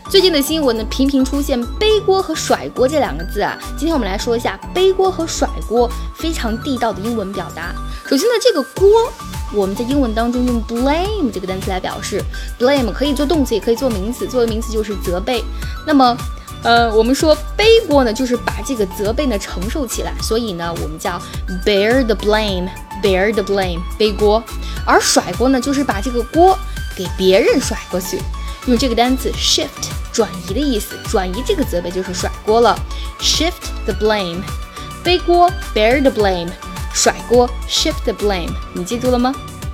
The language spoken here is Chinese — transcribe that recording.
最近的新闻呢，频频出现背锅和甩锅这两个字啊。今天我们来说一下背锅和甩锅非常地道的英文表达。首先呢，这个锅我们在英文当中用 blame 这个单词来表示 ，blame 可以做动词，也可以做名词。作为名词就是责备。那么我们说背锅呢，就是把这个责备呢承受起来，所以呢，我们叫 bear the blame，bear the blame， 背锅。而甩锅呢，就是把这个锅给别人甩过去，用这个单词 shift 转移的意思，转移这个责备就是甩锅了。shift the blame， 背锅 bear the blame， 甩锅 shift the blame， 你记住了吗？